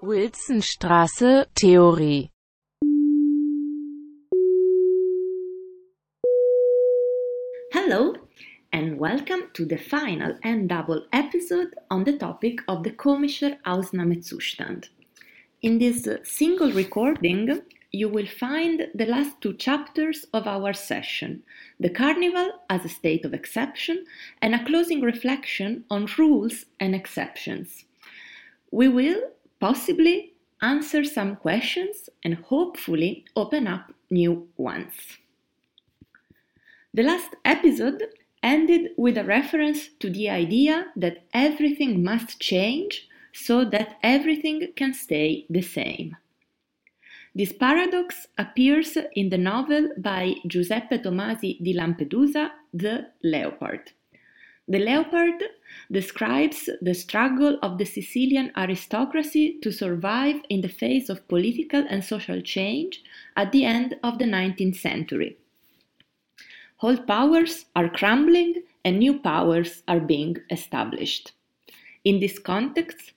Wilsonstraße, Theorie. Hello, and welcome to the final and double episode on the topic of the Komischer Ausnahmezustand. In this single recording, you will find the last two chapters of our session, the Carnival as a state of exception and a closing reflection on rules and exceptions. We will possibly answer some questions and hopefully open up new ones. The last episode ended with a reference to the idea that everything must change so that everything can stay the same. This paradox appears in the novel by Giuseppe Tomasi di Lampedusa, The Leopard. The Leopard describes the struggle of the Sicilian aristocracy to survive in the face of political and social change at the end of the 19th century. Old powers are crumbling and new powers are being established. In this context,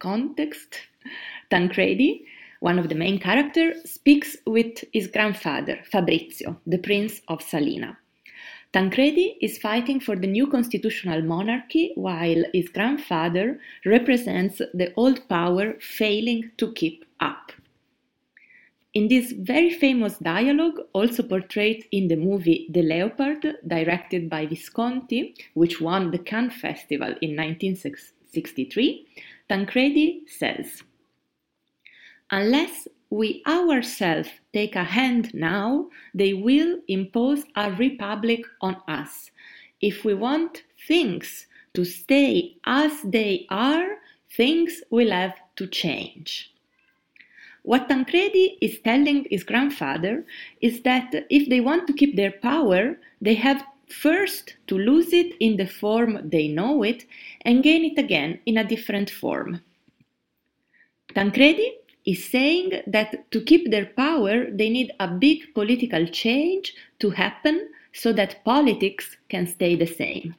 Tancredi, one of the main characters, speaks with his grandfather, Fabrizio, the Prince of Salina. Tancredi is fighting for the new constitutional monarchy, while his grandfather represents the old power failing to keep up. In this very famous dialogue, also portrayed in the movie The Leopard, directed by Visconti, which won the Cannes Festival in 1963, Tancredi says, "Unless we ourselves take a hand now, they will impose a republic on us. If we want things to stay as they are, things will have to change." What Tancredi is telling his grandfather is that if they want to keep their power, they have first to lose it in the form they know it and gain it again in a different form. Tancredi is saying that to keep their power, they need a big political change to happen so that politics can stay the same.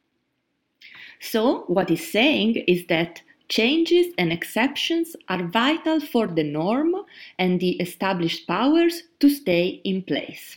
So, what he's saying is that changes and exceptions are vital for the norm and the established powers to stay in place.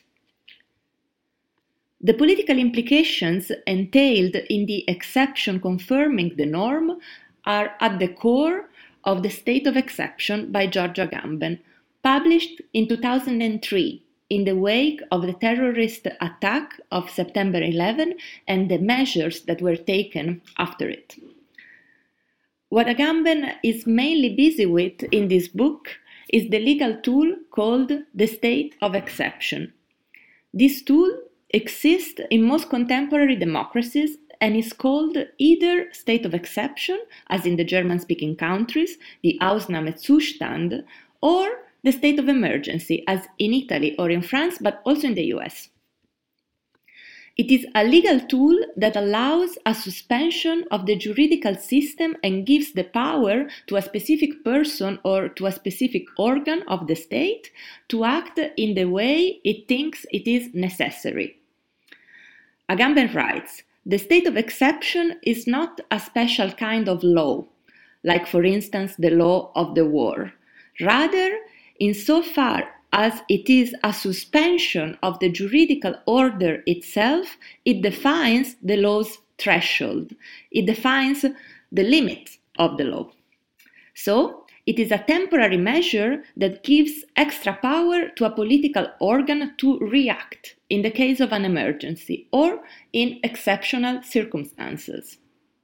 The political implications entailed in the exception confirming the norm are at the core of The State of Exception by Giorgio Agamben, published in 2003 in the wake of the terrorist attack of September 11 and the measures that were taken after it. What Agamben is mainly busy with in this book is the legal tool called the state of exception. This tool exists in most contemporary democracies and is called either state of exception, as in the German-speaking countries, the Ausnahmezustand, or the state of emergency, as in Italy or in France, but also in the US. It is a legal tool that allows a suspension of the juridical system and gives the power to a specific person or to a specific organ of the state to act in the way it thinks it is necessary. Agamben writes, "The state of exception is not a special kind of law, like for instance the law of the war. Rather, insofar as it is a suspension of the juridical order itself, it defines the law's threshold. It defines the limits of the law. So, it is a temporary measure that gives extra power to a political organ to react in the case of an emergency or in exceptional circumstances."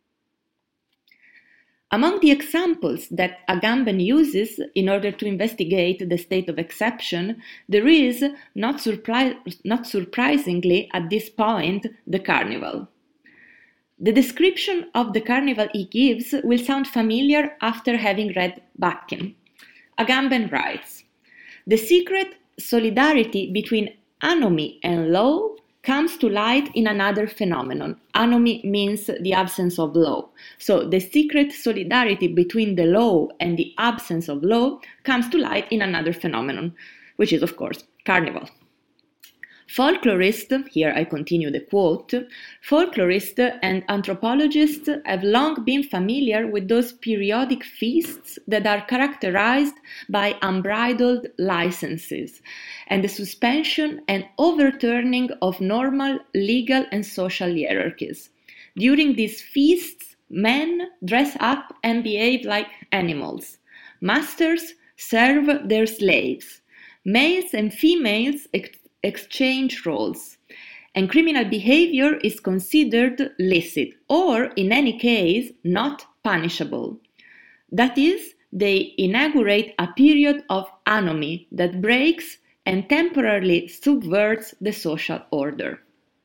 Among the examples that Agamben uses in order to investigate the state of exception, there is, not surprisingly at this point, the carnival. The description of the carnival he gives will sound familiar after having read Bakken. Agamben writes, "The secret solidarity between anomy and law comes to light in another phenomenon. Anomy means the absence of law. So the secret solidarity between the law and the absence of law comes to light in another phenomenon, which is, of course, carnival. Folklorists, here I continue the quote, folklorists and anthropologists have long been familiar with those periodic feasts that are characterized by unbridled licenses and the suspension and overturning of normal legal and social hierarchies. During these feasts, men dress up and behave like animals. Masters serve their slaves. Males and females exchange roles, and criminal behavior is considered licit or, in any case, not punishable. That is, they inaugurate a period of anomie that breaks and temporarily subverts the social order.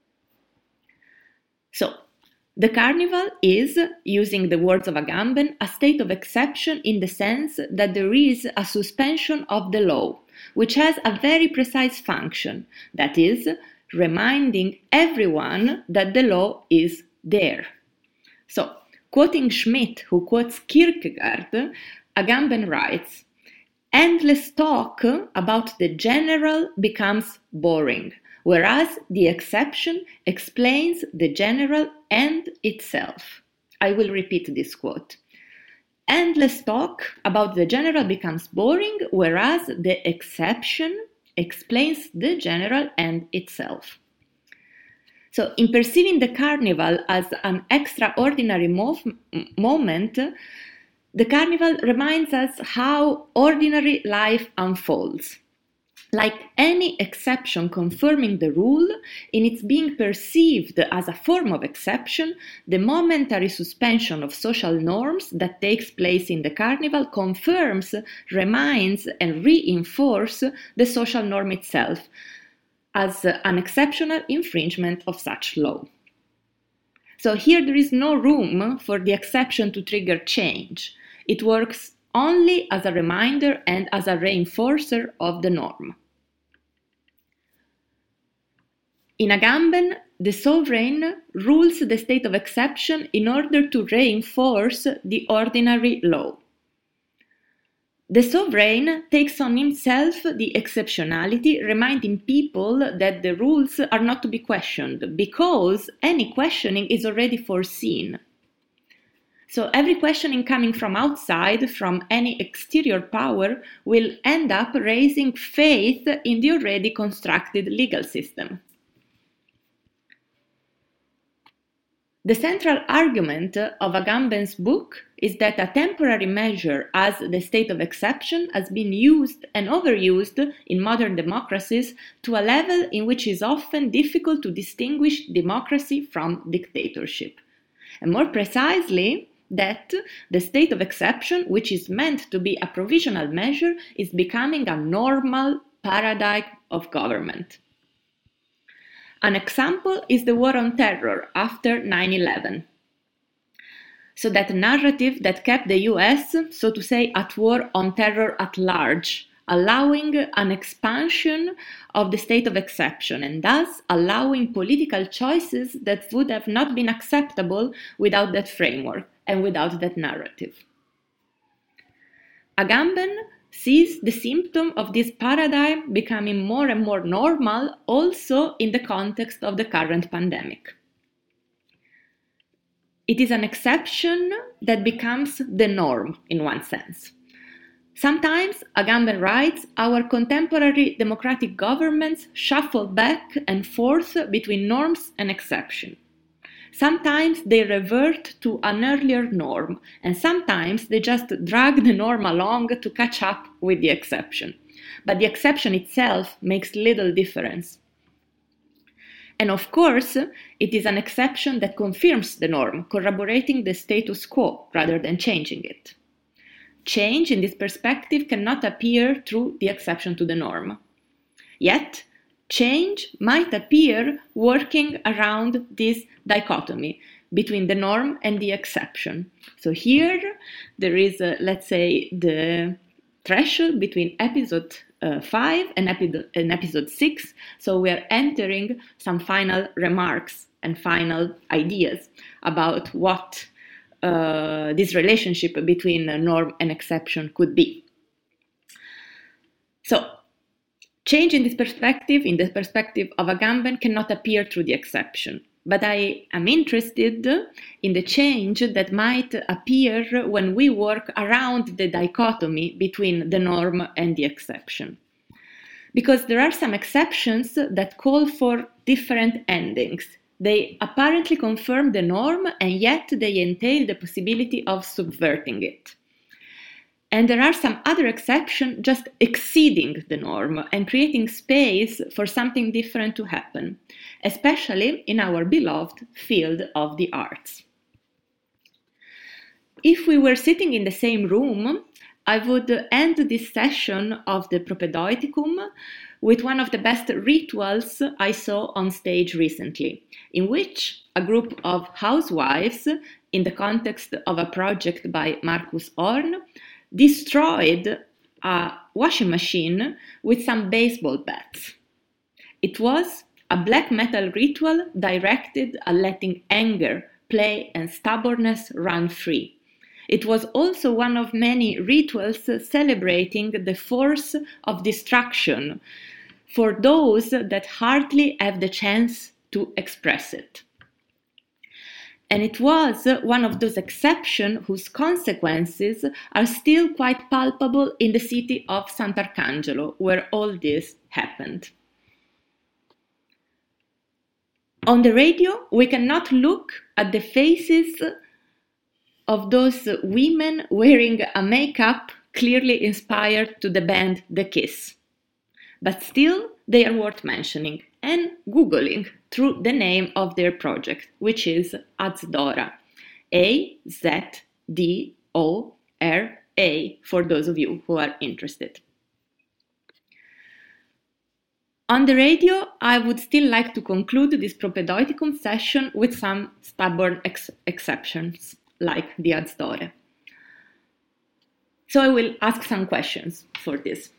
So, the carnival is, using the words of Agamben, a state of exception in the sense that there is a suspension of the law, which has a very precise function, that is, reminding everyone that the law is there. So, quoting Schmidt, who quotes Kierkegaard, Agamben writes, "Endless talk about the general becomes boring, whereas the exception explains the general and itself." I will repeat this quote. Endless talk about the general becomes boring, whereas the exception explains the general and itself. So, in perceiving the carnival as an extraordinary moment, the carnival reminds us how ordinary life unfolds. Like any exception confirming the rule, in its being perceived as a form of exception, the momentary suspension of social norms that takes place in the carnival confirms, reminds, and reinforces the social norm itself as an exceptional infringement of such law. So here there is no room for the exception to trigger change. It works only as a reminder and as a reinforcer of the norm. In Agamben, the sovereign rules the state of exception in order to reinforce the ordinary law. The sovereign takes on himself the exceptionality, reminding people that the rules are not to be questioned, because any questioning is already foreseen. So every questioning coming from outside, from any exterior power, will end up raising faith in the already constructed legal system. The central argument of Agamben's book is that a temporary measure as the state of exception has been used and overused in modern democracies to a level in which it is often difficult to distinguish democracy from dictatorship. And more precisely, that the state of exception, which is meant to be a provisional measure, is becoming a normal paradigm of government. An example is the war on terror after 9/11. So that narrative that kept the US, so to say, at war on terror at large, allowing an expansion of the state of exception and thus allowing political choices that would have not been acceptable without that framework and without that narrative. Agamben sees the symptom of this paradigm becoming more and more normal also in the context of the current pandemic. It is an exception that becomes the norm in one sense. Sometimes, Agamben writes, our contemporary democratic governments shuffle back and forth between norms and exception. Sometimes they revert to an earlier norm, and sometimes they just drag the norm along to catch up with the exception. But the exception itself makes little difference. And of course, it is an exception that confirms the norm, corroborating the status quo rather than changing it. Change in this perspective cannot appear through the exception to the norm. Yet, change might appear working around this dichotomy between the norm and the exception. So here there is, let's say, the threshold between episode 5 and episode 6. So we are entering some final remarks and final ideas about what this relationship between norm and exception could be. So, Change in this perspective, in the perspective of Agamben, cannot appear through the exception. But I am interested in the change that might appear when we work around the dichotomy between the norm and the exception. Because there are some exceptions that call for different endings. They apparently confirm the norm, and yet they entail the possibility of subverting it. And there are some other exceptions just exceeding the norm and creating space for something different to happen, especially in our beloved field of the arts. If we were sitting in the same room, I would end this session of the Propedeutikum with one of the best rituals I saw on stage recently, in which a group of housewives, in the context of a project by Marcus Horn, destroyed a washing machine with some baseball bats. It was a black metal ritual directed at letting anger, play, and stubbornness run free. It was also one of many rituals celebrating the force of destruction for those that hardly have the chance to express it. And it was one of those exceptions whose consequences are still quite palpable in the city of Sant'Arcangelo, where all this happened. On the radio, we cannot look at the faces of those women wearing a makeup clearly inspired to the band The Kiss. But still, they are worth mentioning and Googling through the name of their project, which is Azdora. Azdora, for those of you who are interested. On the radio, I would still like to conclude this Propedeuticum session with some stubborn exceptions, like the Azdora. So I will ask some questions for this.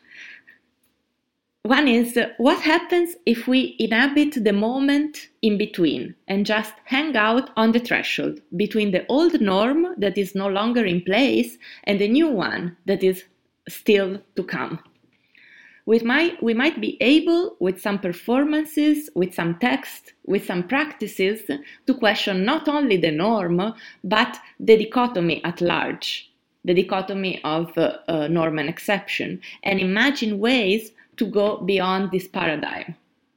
One is, what happens if we inhabit the moment in between and just hang out on the threshold between the old norm that is no longer in place and the new one that is still to come? We might be able, with some performances, with some text, with some practices, to question not only the norm, but the dichotomy at large, the dichotomy of norm and exception, and imagine ways to go beyond this paradigm.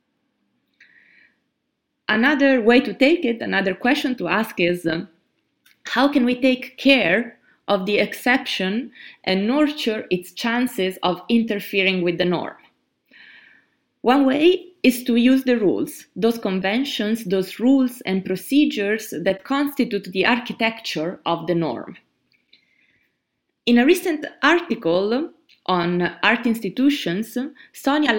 Another way to take it, another question to ask is, how can we take care of the exception and nurture its chances of interfering with the norm? One way is to use the rules, those conventions, those rules and procedures that constitute the architecture of the norm. In a recent article on art institutions, Sonia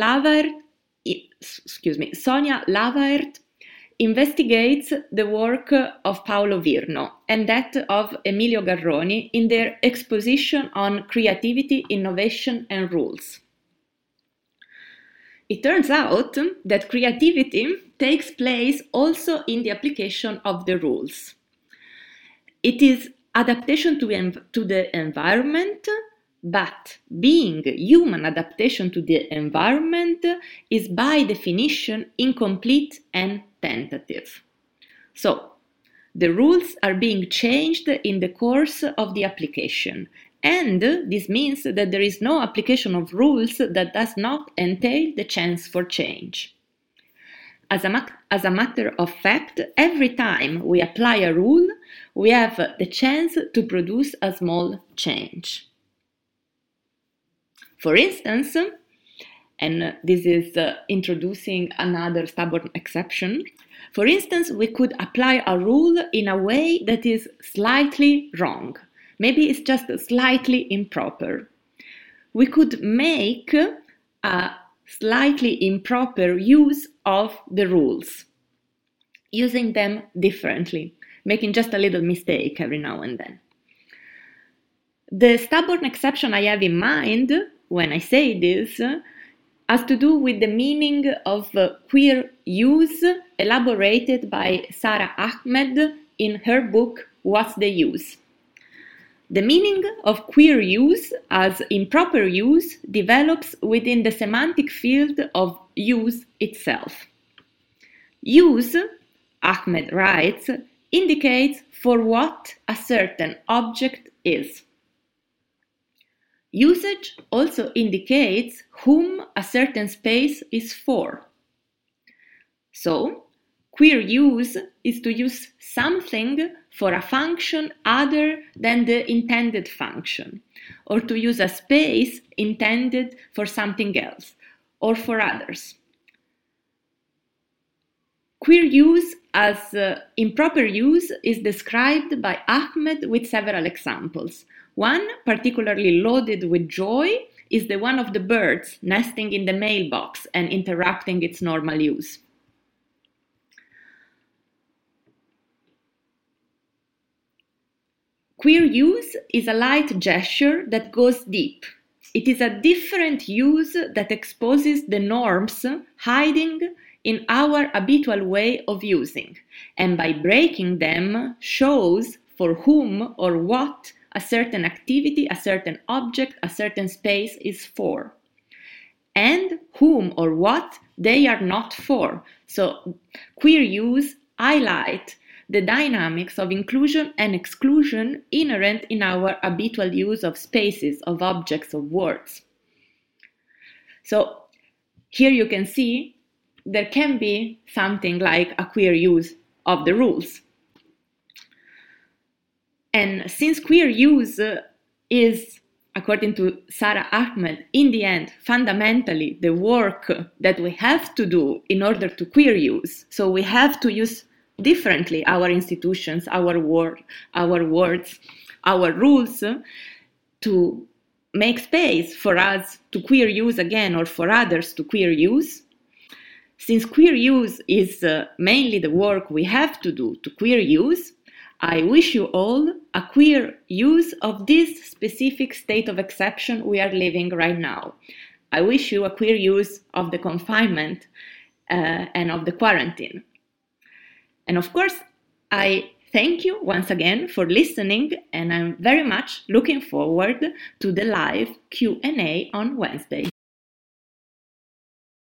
Lavaert investigates the work of Paolo Virno and that of Emilio Garroni in their exposition on creativity, innovation, and rules. It turns out that creativity takes place also in the application of the rules. It is adaptation to the environment, but being human adaptation to the environment is by definition incomplete and tentative. So, the rules are being changed in the course of the application, and this means that there is no application of rules that does not entail the chance for change. As a matter of fact, every time we apply a rule, we have the chance to produce a small change. For instance, and this is introducing another stubborn exception, for instance, we could apply a rule in a way that is slightly wrong. Maybe it's just slightly improper. We could make a slightly improper use of the rules, using them differently, making just a little mistake every now and then. The stubborn exception I have in mind when I say this has to do with the meaning of queer use elaborated by Sara Ahmed in her book What's the Use? The meaning of queer use as improper use develops within the semantic field of use itself. Use, Ahmed writes, indicates for what a certain object is. Usage also indicates whom a certain space is for. So, queer use is to use something for a function other than the intended function, or to use a space intended for something else, or for others. Queer use as improper use is described by Ahmed with several examples. One, particularly loaded with joy, is the one of the birds nesting in the mailbox and interrupting its normal use. Queer use is a light gesture that goes deep. It is a different use that exposes the norms hiding in our habitual way of using, and by breaking them shows for whom or what a certain activity, a certain object, a certain space is for, and whom or what they are not for. So queer use highlights the dynamics of inclusion and exclusion inherent in our habitual use of spaces, of objects, of words. So here you can see there can be something like a queer use of the rules. And since queer use is, according to Sara Ahmed, in the end, fundamentally the work that we have to do in order to queer use, so we have to use differently our institutions, our words, our rules to make space for us to queer use again or for others to queer use. Since queer use is mainly the work we have to do to queer use, I wish you all a queer use of this specific state of exception we are living right now. I wish you a queer use of the confinement and of the quarantine. And of course, I thank you once again for listening, and I'm very much looking forward to the live Q&A on Wednesday.